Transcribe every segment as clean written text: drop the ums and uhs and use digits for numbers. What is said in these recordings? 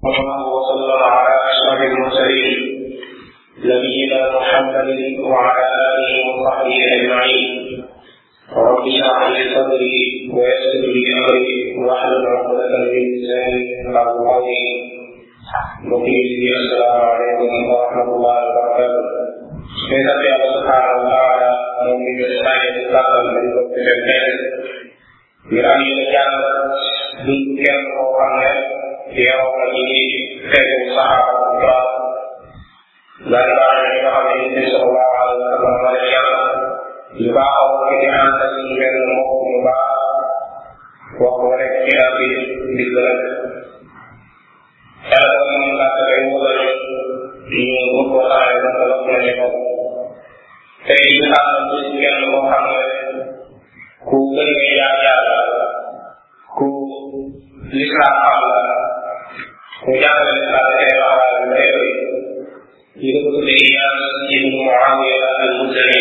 الله وسلم على أشرف المرسلين نبينا محمد وعلى آله وصحبه أجمعين رب اشرح لي صدري ويسر لي أمري واحلل عقدة من لساني يفقهوا قولي وقيل السلام عليكم ورحمة الله وبركاته. Kita Allah Subhanahu wa taala memiliki saya tetapkan dari kebenaran. Bila kita jalan bukan orangnya dia orang ini saya sahabat kita. Dan orang yang kami ini sallallahu alaihi wasallam juga orang kita antara dengan mukmin wa qawlan kita billah. Kalau mengatakan mulai ini bukan ada dalam penyebab tey xam ci kenn mo xam ne ku bëri yaakaar ku l'islam xam la ku jàngale l'islam tey waxal ne yi ko tuddee Iyaas ibn Muawiya al-Muzani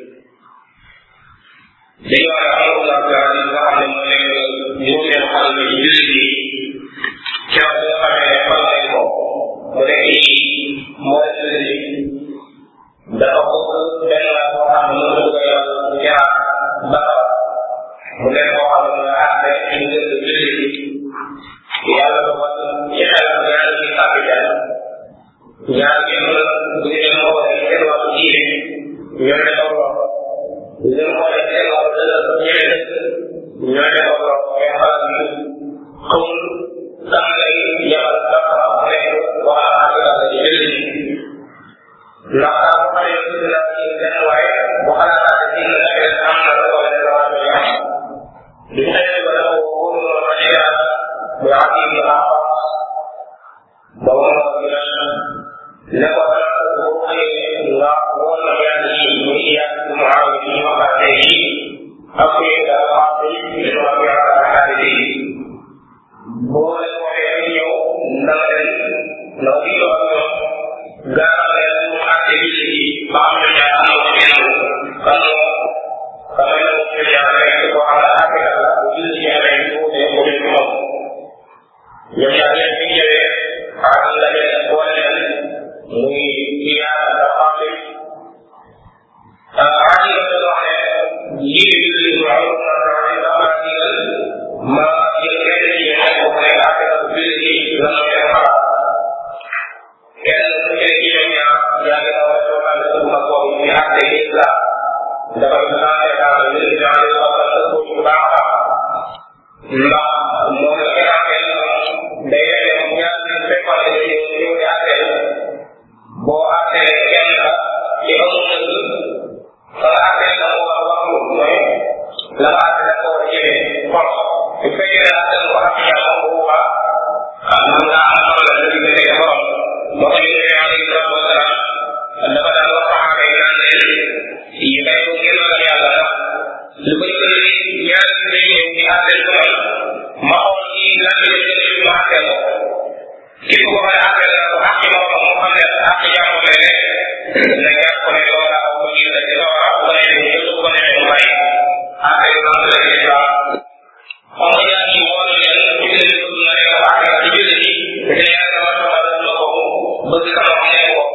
dañu wax Allah taala nga xam ne moo nekk juróomeelu xalifa ci jullit yi keroog bi nga xamee ne fal nañ ko mu nekk mooy jullit yi dafa bëgg benn la boo xam ne mënu ko yor Irak ba mu nekk boo xam ne nga àtte ci ngir jullit yi yàlla ba wax ci xelam ñaari ci capital ñaari yëpp la bu ñu leen xoolee seen wàllu diine ñoo ne ko lor bu ñu leen xoolee seen wàllu dëgg ñeneen ñoo ne ko lor mais xalaat bi xamul sax lay yabal dafa am nekk wax ak ci jullit yi ndax bu xale yi dina ci benn waaye bu xalaataate ci la nekk am na la wala la war a am du xëy ba dafa wóor loolu ma ci yàlla bu am yi nga xam ba mu ne ko bu xëyee nga wóor na yàlla yi mu Iyaas bu mu aw ci ñu waxaat léegi ak yi nga xam ne ñu wax yàlla ak xarit yi boo leen waxee ñëw ndax leen ndax di ko ak ñoom gaaral leen mu àtte jullit yi ba am ñu ñaar am na ci ñenn kan moo xam ne mu ñu ñaar rek ko xam ne àtte la bu jullit yi amee ñu ko dee ko def moom ñoom ñaar leen bi ñëwee ak la leen boole leen muy Iyaas ak Xaasim Xaasim dafa wax ne lii jullit yi waaw na raxi dama digal ma jël kenn ci ñoom ko nekk àtte la bu jullit yi lan la leen xalaat kenn ku ci ci ñoom ñaar yaa ngi daw rek waxal sa bu mag boobu ñu àtte islam dafa naan daal ñu ci daal di wax sa ko bu baax ndax moom la nga àtte day dem ñaar ñu fekkoon ne ñu di àtte boo àtte kenn la ci amul dëgg fa nga àtte la ko war a wax mooy la nga àtte la ko war a jëlee force bu fekkee ne àtte ko ak yàlla bu boobaa mën ngaa am solo la dëgg nekk borom moo tax ñu ne alayhi salaatu wasalaam dafa daan wax saxaaba yi naan leen yi bay ko ngeen ragal yàlla ndax lu bëri bëri ñaari day ñëw di àtteel ko man ma xool ci lan la ñu gën ma àtteel ko képp ko xam ne àtteel na ko àq moom mu xam ne àq jàmm lay nekk na jàpp ko ne loola aw ko ñu la ci loola bu ko neexee mu jël bu ko neexee mu bàyyi àtteel na la ci islam xam nga yaa ngi wóolu leen bu ñu leen bëgg nga nekk àq ci jullit yi te yàlla bëgg sama wax ne ko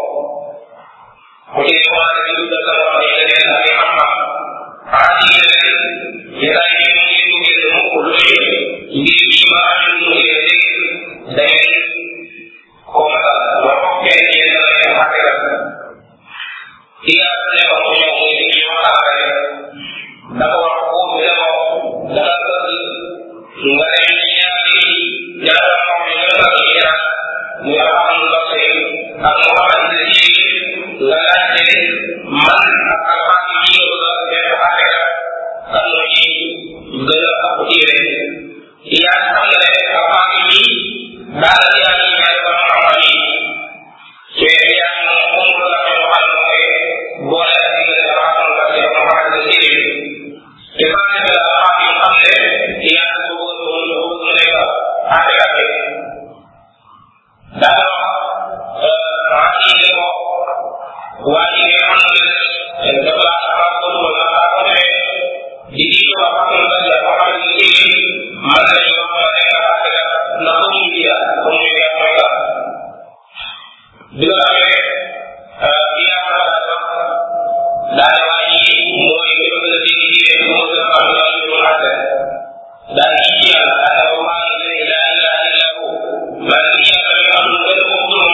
bu ci commencé di dugg sama wax ne leen ak xam-xam aadi leen yéen yi ñu ngeen mukk lu ngir ci ma am ñu ngeen day ko mata wa ko kenn yéen la leen xate la Iyaas ne ko mu ñëw muy ci waxtaan rek dafa wax ko bi la ko dana bëgg nga dem ñaari ñaara xam ne ñu la ci Iyaas muy alhamdulillah ak Muhammad yi la laajte man ak alxames yi ñu la def àtte la kan moo ci gën a ëpp téere Iyaas xam nga ne alxames yi daal di yaa ngi ñaari ba xam-xam yi te Iyaas moom xamul la ñu waxal mooy boole ak diggante alhamdulillah ak Muhammad yi te maa ngi la alxames xam ne Iyaas bëgg mu nekk àtte daal bi nga amee yaa ko war a wax daal waa ji mooy li ma gën a dégg diine moo gën a xam daal ñu àtte daal di ci yàlla ana wa maa la ilaha illa hu maa ngi yàlla mi am lu gën a ko moom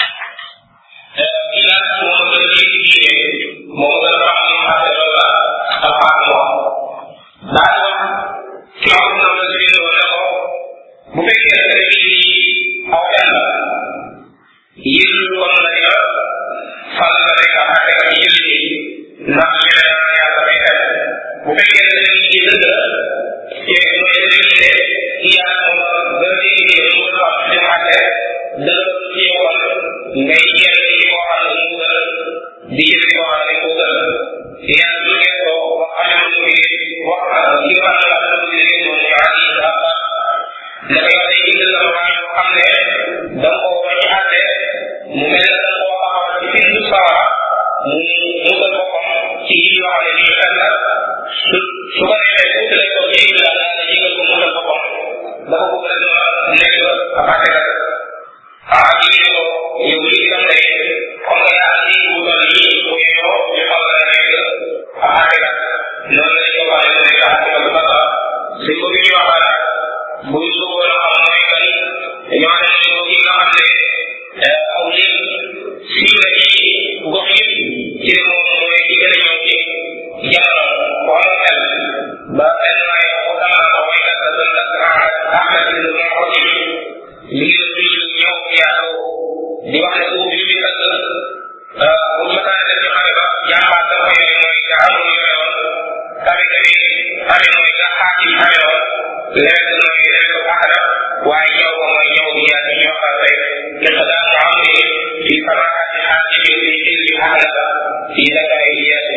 kii laa moo ma gën a dégg diine moo ma gën a xam li mu àtte loolu la alxaam moom daal di wax ki am na la si ne ko bu fekkee ne aw yàlla yéen kon la dina fal la rek a àtte ak julli ndax yeneen yàlla day def bu fekkee ne dañuy ci dëgg te mooy dañuy ne yàlla moom gën a liggéey mu gën a wax ci àtte dëgg ci yoon ngay jël ci koo xam ne mu gën di jël koo xam ne mu gën yàlla du ngeen ko wax am lu muy wax ki nga xam ne la lu muy moom ñu àgg yi dafa dafa yow day indi sama waa yoo xam ne da nga ko war ci àtte mu mel ne da nga koo xamal ci bindu sawara mu musal boppam ci yi yoo xam ne lii xel la su ko defee tuuti lay ko ci indi la daal yëgal ko musal boppam dafa bëgg rek ma nekk ab àttekat ji ko yow lii itam day comme que yaa andi wutal lii bu yow ñu xaw la nekk ab àttekat noonu lañ ko waxee mu nekk àttekat bu baax suñ ko bi ñuy waxaat bu ñu bëggoon a xam mooy kan ñoo xam ne ko ki nga xam ne aw lim siiw na ci gox yi ci moom mooy ki gën a ñëw ci jamono ko am xel ba benn waay ko dama ko mooy kat la doon kat ahmad bin mu'adim li ngi la tudd ñëw yaatu di wax ne ko bi kat bu mataan def ci xare ba jàmbaat da ko yore mooy nga amul yore woon kawe kawe amee mooy nga xaati amee woon léegi mooy léegi ahada waaye ñëw ko mooy ñëw bi yaa ñu wax tey iqdam amri fi samaati xaatibi fi ilmi ahada fi dakari iyasi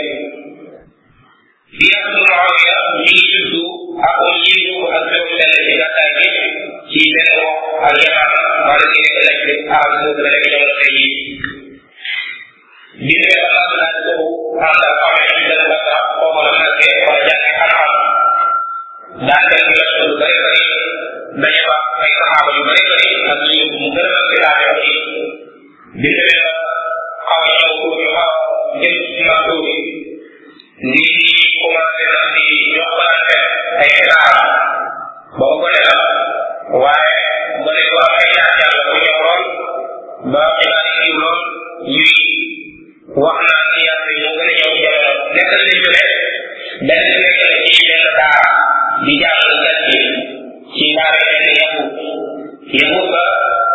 iyas bu Muawiya mi ngi juddu ak yiidu ak juróom benn ci gàttaay bi ci benn wax ak yamaama wala ci nekk lañ bi arab boobu la nekk jamono tey yi bi ñu la laaj laaj boobu ànd ak amee ci benn bàtta foofu la nekkee wala jàngee xam-xam daan dem di la lu bëri bëri dañu fa ay saxaaba yu bëri bëri ak ñu mu gën a ci laajoo yi bi ñu la xaw a ñëw tuuti xaw a jëm ci ma tuuti ni commencé na di yokkalante ay xibaar boo ko la waaye ba ne ko am ay jaar-jaar la bu ñëw lool ba xibaar yi siiw lool ñuy wax naan ci yàlla yi moo gën a ñëw jamono nekk nañ ñu ne benn nekk na ci benn daara di jàngal gat yi ci daara benn yahut ba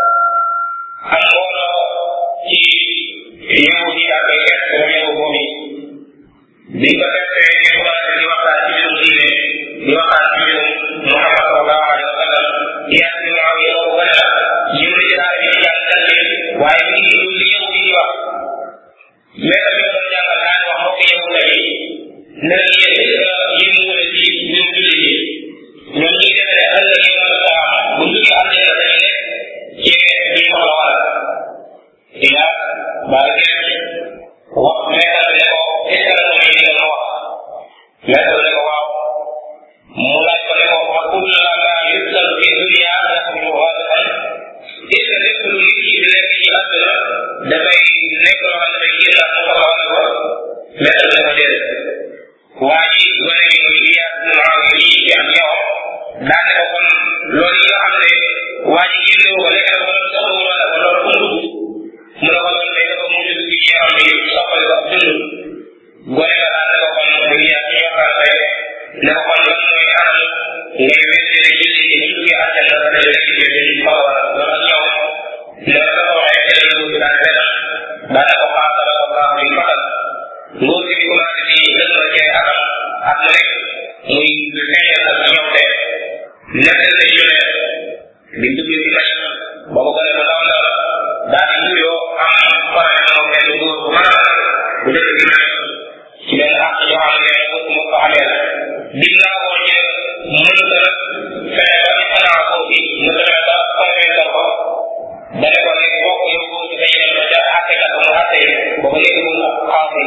am mbooloo ci yahut yi daal koy fekk moom yahut moom yi bi ko fekkee ñu commencé di waxtaan ci mbirum diine di waxtaan ci mbirum Muhammad sallallahu alayhi wa sallam yaa si maaw yi ko gën a ñëw ci daara bi di jàng gat yi waaye mi ngi dul li yahut yi di wax mais tamit doon jàngal daan wax mbokk yahut yi ne la yéen mu ne ci ñun jullit yi ñoom ñuy defee ëllëg yow na ko bu duggee àddina dañu nekk ci duñ soxla wala ila baa ngeen wax meetal ne ko est ce que la muy digal ma wax meetal ne ko waaw mu laaj ko ne ko wa kulla ma yusal fi dunia yaxmilu waadixan est ce que lépp lu nit ki di nekk ci àdduna dafay nekk loo xam ne dafay génn ak mu soxla wala ko meetal ne ko déedéet waa ji gone gi muy Iyaas bin Muawiya yi ak ñoom daan ne ko kon loolu yi nga xam ne waa ji génne ko lekk na ko loolu soxla wala ko loolu fu mu dugg mu ne ko loolu day dafa mujj dugg ci yaram bi soppali ko dund gone ga daan ne ko kon muy Iyaas ñu waxtaan tey ne ko kon lan mooy anam ngay weddee julli gi ñu duggee àjjana la day lekk ci biir soxla wala loolu ak ñoom ne la ko waxee teel lu daan benn daan ne ko xaasala ko baax muy fatal nguur gi commencé di dëgg la ci atam ak mu nekk muy feeñal ak ñoom te nekk na ñu ne di duggee ci mañ boobu ko ne mu ndaw ndaw daal di nuyoo am faral moom benn góor bu mën a bu dëkk ci mañ ci benn àq yoo xam ne mu ko xamee la dig naa ko ci mën ta fexe ba ci xanaa ko fi mu fexe ba convaincre ko ba ne ko léegi bokk yow góor ci dañu dem ba ca àttekat mu àtte boobu léegi mu xaasi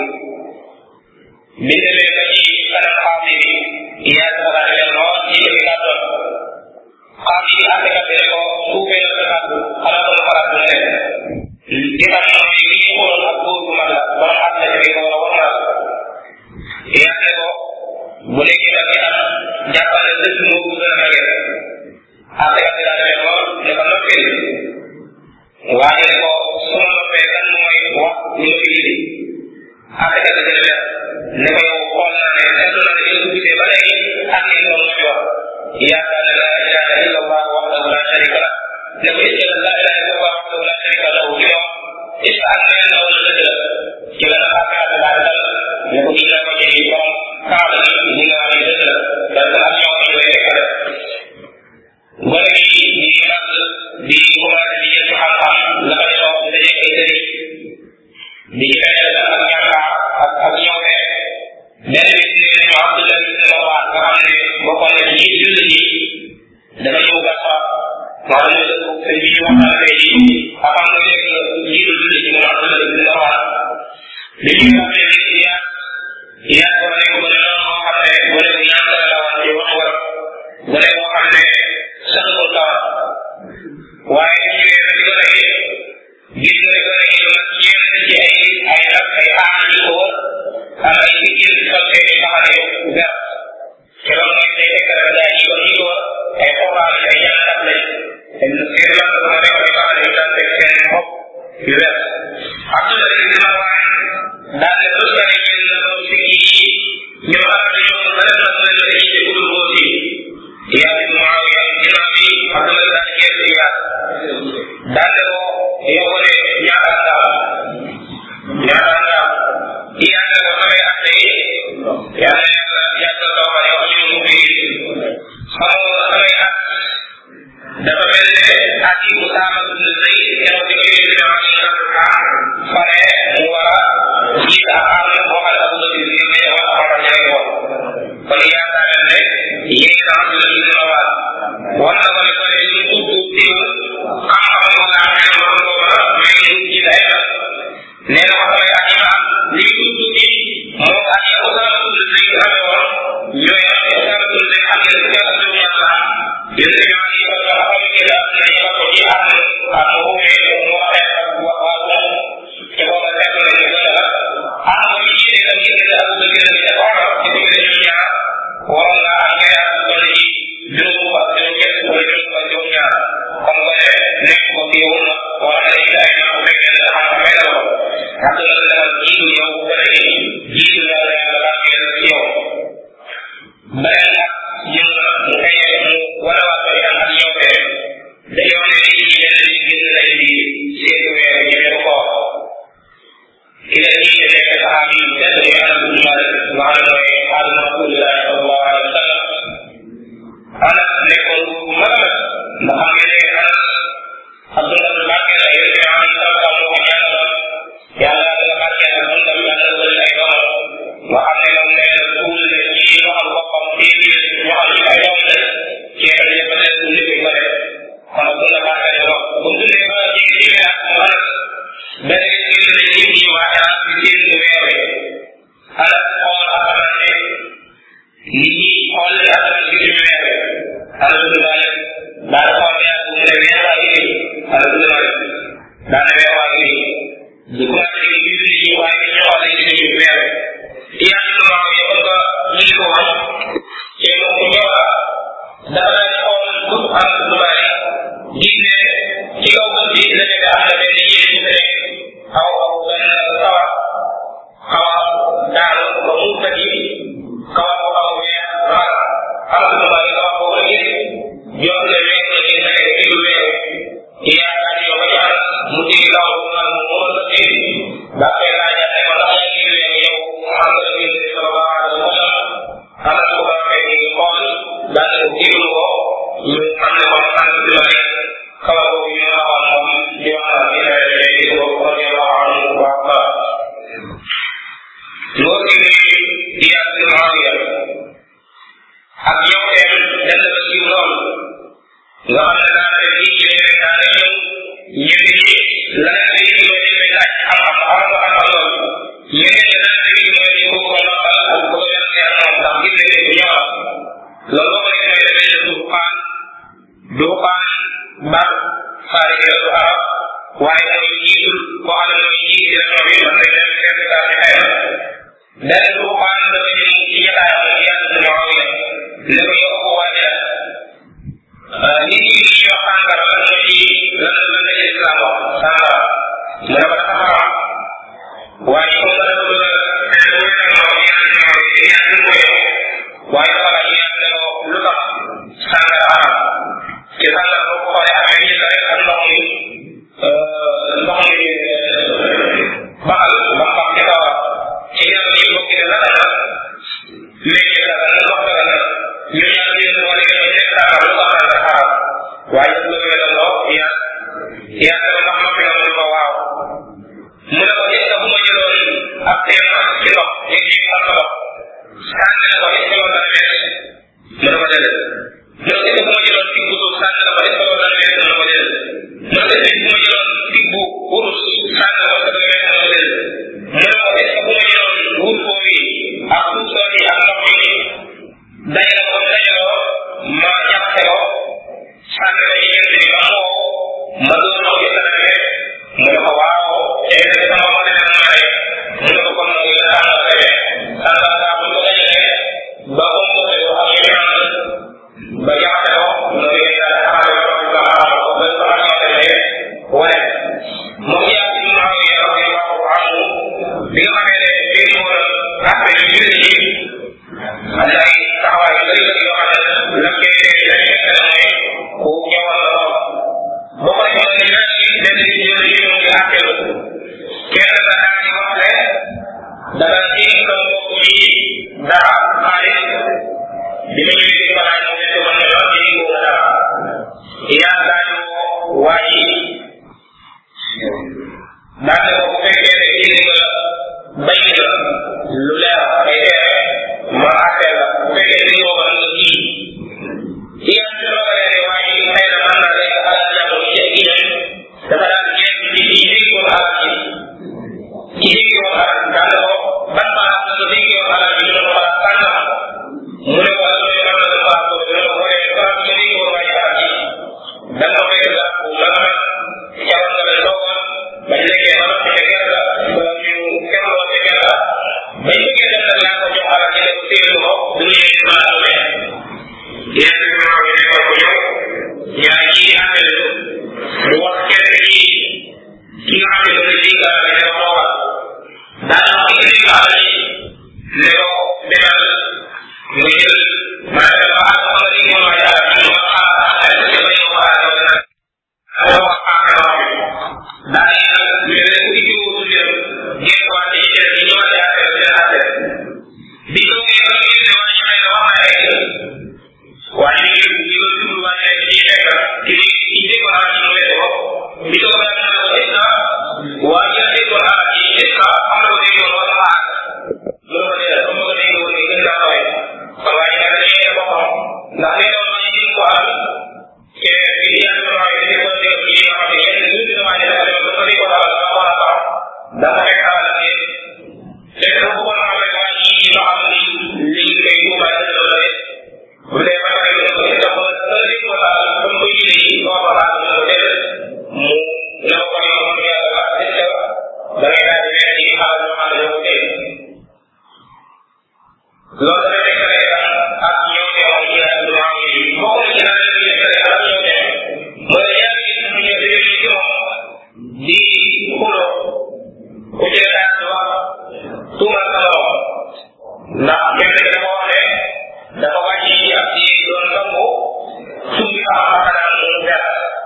bi demee ba ci kanam xaasi bi yaa ko daal dem lool ci li gàttoon xaasi bi àttekat bi ne ko suufee na sa kàddu xanaa ko lu xalaat bu nekk waaye ko su ma noppee kan mooy wax ñu ma fi indi àttekat bi gën a ne ko yow xool naa ne seetlu na ne yow gisee ba léegi ak ngeen doon nga fi wax yaakaar ne la ilaha illa allah wahdahu la sharika lah ne ko est-ce que la ilaha illa allah wahdahu la sharika lahu ci moom est-ce que ak neen la wala dëgg la ci la nag àttekat bi daal dal ne ko gis naa ko ci borom kaaba gi li nga wax ni dëgg la parce que ak ñoo ñu koy fekkale gone gi ñu ngi màgg di commencé di jël xam-xam la ko ñoo di dajeeg ay sëriñ di ci fekk ak ñàkkaar ak ñëwee benn bis ñu ne ñu Abdullah ibn Rawah nga xam ne bokkoon na ci jullit yi dafa ñëw Basra wax ne sëñ bi ñu waxtaan tey jii avant nga nekk njiitu jullit yi moom Abdullah ibn Rawah li ñuy wax ne yaa ko nekk ba ne noonu moo xam ne bu nekk ñaan la woon ci wax war bu nekk moo xam ne saxul tawat waaye ñu ñëwee ba ci gone gi gis nga ne gone gi lu mat ñeent ci ay nag ay aar yu ko wër ak ay liggéey yu sol seen i mbaxane yu vert te loolu mooy day fekk rek gaa yi kon ñi ko wër ay xobaal ay jàngat lañ seen lan moo nekk ay mbaxane yu daan teg seen bopp yu vert Abdullah ibn Rawah daal ne lu sare ñeen na doon si kii ñoo xam ne ñoom ba def na mu leen la ci gudul boo si yaa ibn Muawiya ginnaaw bi Abdullah daal di geesu yaa daal ne ko yow ne ñaata nga yaa ne ko samay atte yi yaa ne yàgg la wax yow ñu mu fi xamoo samay at dafa mel ne at yi Usaama ibn Zayd keroog bi koy dina am ñu fare mu war a jiit ak am boo xam ne Abu Bakr yi ne wax xamal ña ngi woon kon yaakaar ne yéen a Abdullah ibn Rawah war na ko ne ko ne ñu tudd teewul xam-xam ko laa xam ko ko may ñu ci day nee na ko samay at yi ma am li tudd ci moo at yi Usaama ibn Zayd amee woon ñooy am Usaama ibn Zayd xam ne ci ak ñu ñaan la yéen ñu ñaan yi ko xam ne la na ñu ko ci am mu mu waxee ak waa te booba fekk na ñu gën a am ñu ci itam ci gën a Abu Bakr bi ak Omar ci diggante ñoom ñaar waroon naa am ngay am toll ci juróom ak juróom ñett wala juróom ak juróom ñaar comme que nekk ko teewul na wala nga ci ay bu fekkee ne xam nga may la ko Abdullah demal jiitu yow bu gën a jiitu la la yàlla barkeel ci yow beneen nag ñëw na mu xëyee mu wala waat ko itam ak ñëw fee dañoo ne nit ñi benn nit génn nañ di seetu weer yi weeru koor ki la jiite nekk saxaabi yi tedd muy Anas ibn Malik nga xam ne mooy xaadim Rasulillah sallallahu alayhi wa sallam Anas nekkoon bu mag a mag nga xam ne Anas Abdullah ibn Barkeel ay yëpp yoo xam ne sax moo ko ñaanaloon yàlla dana barkeel ak dundam yàlla wël ay doomam nga xam ne moom nee na tuul ne ci loxal boppam fii biir ñoo xam ne ay doom la ceeb yëpp ne tuul li koy bare kon Abdullah barkeel ko bu dundee ba jege téeméer ak mu Anas benn nit ñi ne nit ñi waa Anas di seen weer wi Anas xool asamaan ne nit ñi xool li asamaan gi ñu weer wi Anas ibn Malik daal xool weer bu mu ne weer waa ngi nii Anas ibn Malik daal ne weer waa ngi nii di commencé di gis nit ñi waaye ñu xool li ñu weer wi yaa ngi waaw yi comme que ñu ngi ko wax te moom ku ñëw la dafa daal xool bu Anas ibn Malik gis ne ci kaw bët bi la nekk am na benn yéen bu ne xaw benn sawar xaw a daanu ba mu tëddi xaw a xaw a weer xaar am na lu bari xaw a boobu la gis jox ne weer la gis ne ci lu weer yaakaar yow ba jaar mu dégg kaw bu naan mu mën a dégg ba koy laajal ne ko ndax yaa ngi weer yow xam nga ne sallallahu alayhi wa sallam am na ko waxee ni xool daal ne déglu ko ñu xam ne kon am na lu bari xaw a boobu ñu waxoon moom di wax na ci nawet bi ko ko ñu waxoon wax ba loolu ni Iyaas ibn Muawiya ak ñoom dem dem ba ci lool nga xam ne daal de ci léegi daal de ñëw ñenn ñi la nga xam ne mooy dañ laaj xam-xam lool ñeneen ñi daal de mooy ñu ko noppal ak ko yor ci moom ndax gis nañ ne ñoo loolu boo ko defee dafay def duxaan ba xaari du arab waaye mooy jiitul koo xam ne mooy jiit région bi man nañ def chef d'état ci xayma benn duxaan dafa ñëw ci jotaayam ak Iyaas ibn Muawiya ne ko yow ko waajal nit ñi li ñuy wax sàngara lan moo ci lan la islam wax mu ne ko est-ce que bu ma jëloon ab teen ci ndox léegi am ndox sànni na ko est-ce que loolu dana wees mu ne ko déedéet mu ne ko est-ce que bu ma jëloon tig bu suuf sànni na ko est-ce que loolu dana wees mu ne ko déedéet mu ne ko est-ce que bu ma jëloon tig bu wurus sànni na ko est-ce que dana wees mu ne ko déedéet mu ne ko est-ce que bu ma jëloon wur foofu yi ak suuf soo yi ak ndox mi dajale ko dajaloo ma jaxase ko sànni ko ci jënd bi ba mu wow ma doon ndox bi dana wees mu ne ko waaw tey nag sama xol dina ma rey mu ne ko kon nag yéen a ànd ak rek sànni saa bu ñu ko dajalee ba ko mu ko yow ak yéen ànd ba jaxase ko mu ne yéen daal xaaral ko ba xaaral ko ba ko ak ñoo demee wane moom yaa ci mu am yow ak yow ak amu bi nga xamee ne bii mu war a affaire yu julli ji am na ay taxawaay yu bëri yoo xam ne la koy dégg la fekk na mooy ku ñëwal la lool boo ko defee ne ñaan yi benn nit ñëw ñu ngi àtteelu kenn ka daal di wax ne dana ji sa mbokk mi dara xaalis bi mu ñëwee di ko laaj mu ne ko ne la di ko dara yaa daal di woo waa ji daal ne ko bu fekkee ne indi nga bay nga lu leer ay tere ma àtteel la bu fekkee ne yoo xam ne kii yaa ci rogalee ne waa ji xëy na mën naa nekk alal jàmbur ci ak yeneen dafa daal di ñeent ci kii dégg woon alal ji ki dégg woon alal daal ko ban baax na ko dégg woon alal ji dina ko xalaat tànn mu ne ko alal ji mën na la baax boobu dina ko boolee xalaat nga dégg woon waa ji alal ji da nga ko fekk garab bu mën a xewal nga leen toogoon bañ lekkee ba noppi ca kër la ba ñu xewloon ca kër la bañ bëggee dem nag laa ko jox alal ji ne ko téelu ko du ñu yéen mën a amee yéen bi maa ngi nekkoon ko ñëw yaa ngi àndal lu wax kenn ci ki nga xam ne dafa dégg alal ji ne ko toogal daal di wax ki dégg alal ji ne ko demal mu jël maanaam dafa àgg xam nga dégg moom waaye alal ji ma xaar ay ko ba yow alal yow dana dafa wax xaar wax bi daal di mel ne ku ci wóotu leen ngeen ko wàcce ci kër gi ñëwaat yaa xel seen affaire bi ko ngeen ko ngeen ne waa ji may wax na ay waaye ñu ngi ko jublu waaye ay ci fekk ki dégg alal ji mu wete ko bi ko nga ne ko est-ce que waa ji dégg alal ji est-ce que am na ko dégg woon wala ma àgg loolu ko dee comme ko dégg woon gën daa xawee kon waa ji nag dañuy yee boppam ndax nee doon waa ji dégg ko alal te bi di yàlla sama waaye dañuy ko dégg ci nga xam ne yenn ñu dina waa ji dafa dem ba ko dégg alal dafa war a tax dafa fekk alal ne fekk dafa bëggoon xam rek waa ji loo xam ni léegi kay tuubaay dana loolu rek bu dee ba pare ñu ko dafa dégg ko alal comme koy liggéey ko fa laal ñu ko def mu ne ko kon yow moom yàlla la est-ce que da ngay daal di nekk ci xaaral ñoo xam ne ñoo ko tey loolu dana fekk rek ak ñoo teewoon ci ak lu maa ngi bokk na ci naan ñu fekk rek ak ñoo teew mooy yaa ngi ñu ñëw di ci moom di xulo ku ci daal di wax tuumal sa borom ndax kenn dafa wax ne dafa wàcc ci ab di doon sangu sumbi am xanaa mu dara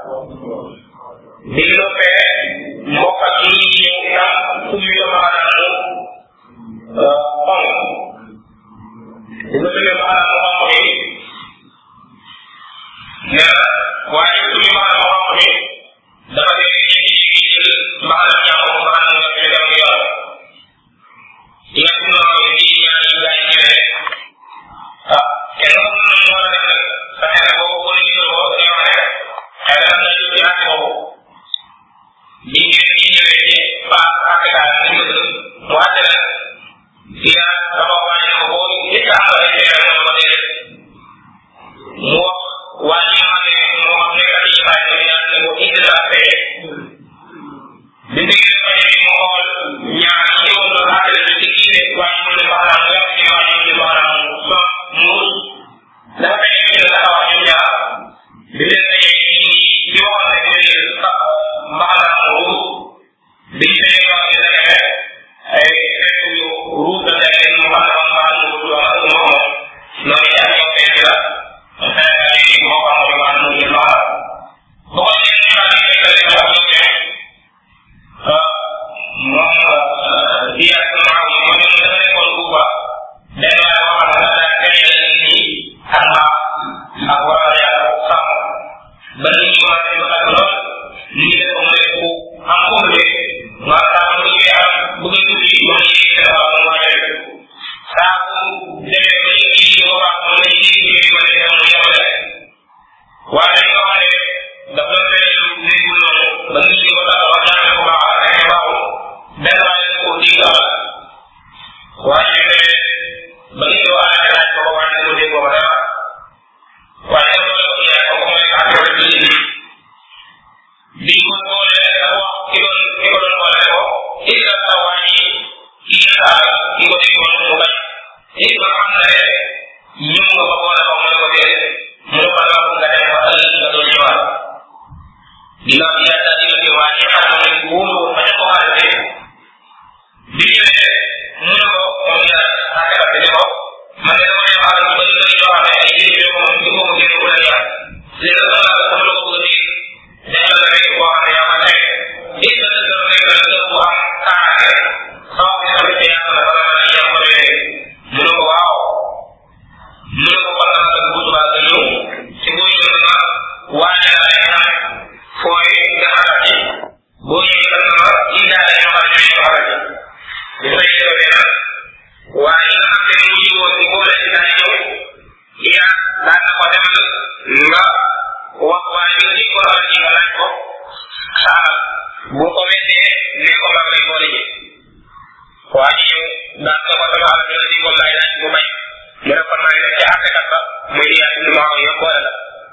di loppee mbokk ak yi ñëw itam sumbi ko xanaa mu xonq di ko sumbi xanaa mu xonq mi nee na waaye sumbi xanaa mu xonq mi dafa dee jékki-jékki jël mbaxana ñàkk ko mbaxana nga fi dem yor yàq noonu di ñaan yi gaay ñëwee kenn ku ne mu war a def nag sa xel boobu wala gisoo ko dañuy wax rek xel na ñu ci àtt boobu bi ngeen di ñëwee ci paas ak daal ñu ko mu àtte la fii nag dafa wàññi ko boobu nit ka am ay feere moom ko déedéet mu wax waa ñi nga xam ne moo xam nekk ci xaay ñu ñaan ne ko indi la fee bi ngeen ko ñëwee mu xool ñaar ñi ñëwoon doon àtte la ci kii ne waa ñu ne baxalaam mu wax ci waa ñu ne baxalaam so muus dafa fay ñu ne dafa wax ñu ñaar bi leen dajee ci waxoon rek ñu ne baxalaam ruus bi ñu fee wax ñu ne ay fekk yu ruus da day mu xam ne man mu du ak mu moom loolu ci ak ñoo fekk la Sénégal yi moo ko am man mu ñu wax bu ko ñeen ñu daal di fekk rek wax ñu ne moom di ak maaw yi moom dafa nekkoon Kuuba benn waay boo xam ne daal kay la nit ñi ak mbaax ak war a yàlla sàmm ba nit ñi commencé ba ak lool nit ñi def ko mu def ku am ko mu dee boole dafa wax ki ko doon boole ko illa sa wàññi ki ki ko déggoon mu bañ it ba xam ne ñëw nga ko boole ko mu ne ko déedéet mu ne ko dafa nga dem ba ëllëg nga doon ñëwaat dina ci yàlla dina ci waa ñi xam ne wóolu woon bañ a ko arrêté bi ñëwee mu ne ko moom la àttekat bi ne ko man de dama ñëw alal ba ñu koy joxaale ay jëriñ yoo moom ci boobu génn ku la ñaar léegi nag la ko bëgg a dañ la rek boo xam ne yaa ma nekk it la dëgg nekk la dëgg bu am kaaraange sama ko tamit ci yàlla bala ma la yem ko léegi mu ne ko waaw mu ne ko kon naa la bu subaa nga ñëw ci boo ñëw na waane la ay naan fooy nga xalaat ci boo ñëwee kat na indaale ñoo xam ne ñoo xalaat ci bu fay ñëwee nag waaye nga xam ne mu ñëwoon ci boole ci daal ñëw yaa daan na ko demal nga wax waaye nga nit ko xalaat ci nga laaj ko xaaral bu ko weddee ne ko maa lay boole ji waa ji ñëw daan na ko sama alal dina ci ko laaj laaj bu bañ mu ne kon maa ngi dem ci àttekat ba muy di yaatu maa ko yëpp boole la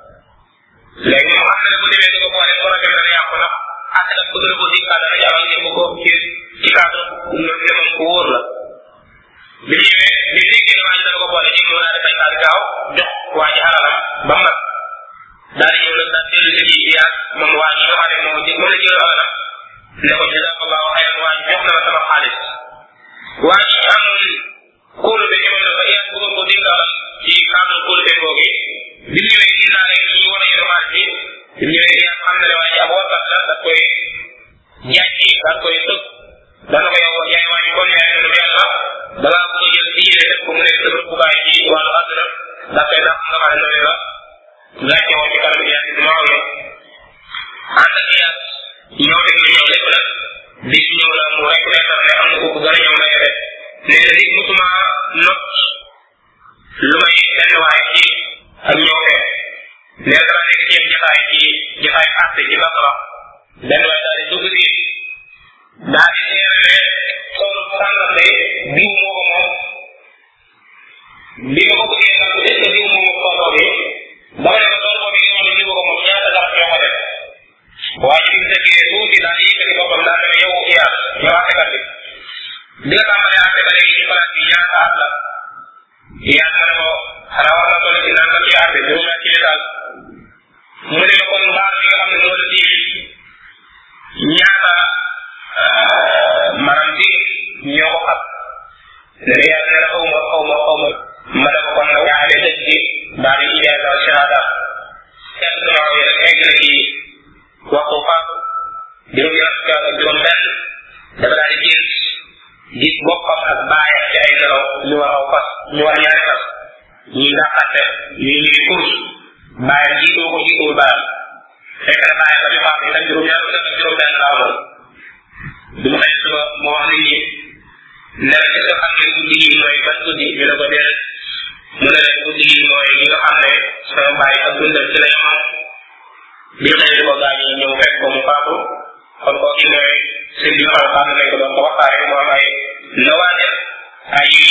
léegi mu xam ne bu demee di ko boole ko rafet dana yàqu ndax àttekat bëgg na ko di cadre rek avant ngeen ko ci cadre loolu ne moom ko wóor la bi ñëwee bi léegi ne waa ji dana ko boole ji mu daal di fay daal gaaw jox waa ji alalam ba mat daal di ñëw nag daal dellu si di yaat moom waa ji nga xam ne moom la jël alalam ne ko jazakallahu xayran waa ji jox na la sama xaalis waa ji amul kóolu be ñëwoon na ba yaat bëggoon ko dénk alal ci cadre kóolu be googu bi ñëwee gis naa ne ñu war a yor xaalis bi ñëwee yaat xam na ne waa ji ab warkat la daf koy jàcci daf koy tëg dana ko yow yaay waa ji kon yaay lu yàlla da ngaa bëgg a jël diine def ko mu nekk sa rëbbukaay ci wàllu àdduna daf koy dàq nga xam ne noonu la laajte woon ci kanam yaat bi maa yow ànd ak yaat ñëw dëgg la ñëw lépp nag bis ñëw la mu rek nekkal ne am na ko gën a ñëw na yore nee na nit musuma not lu may benn waaye ci ak ñëw fee nee dara nekk ci jotaay àtte ci Basra benn waaye daal di dugg si daal di seere ne toolu sàngam de diw moo ko moom bi ma ko bëggee nag est ce que diw moo ko tooloo bi dama ne ko tool boobu yi nga xam ne diw ko moom ñaata sax ñoo ko def waaye bi mu tëggee tuuti daal di yëkkati boppam daal ne yow iyaas yow àttekat bi bi nga tàmbalee àtte ba léegi ci place bi ñaata at la iyaas ma ne ko xanaa war na toll ci nangam ci àtte juróom ci daal mu ne kon baal bi nga xam ne moo la tiim ñaata maanaam bi ñoo ko xam ne iyaas ne la xaw ma ma ne ko kon nag ñaale dëj bi daal di ijaasa shahada kenn dama ko rek egg na ci waxtu faatu juróom ñaar fukki ak juróom benn dafa daal di gis boppam ak baayam ci ay nelaw ñu war aw fas ñu war ñaari fas ñi dàqante ñi ngi course baayam jiituwul baayam fekk na baayam dafa faatu itam juróom ñaar fukki ak juróom benn laa woon bi mu xëy suba mu wax nit ñi ne la est-ce que xam ngeen guddi gi mooy ban guddi ñu ne ko déedéet mu ne leen guddi gi mooy li nga xam ne sama baay ak dundam ci la yamam bi xëy di ko gaañu ñëw fekk ko mu faatu kon kooku mooy sëñ bi xam nañ ko doon ko waxtaane mu am ay nawaajal ay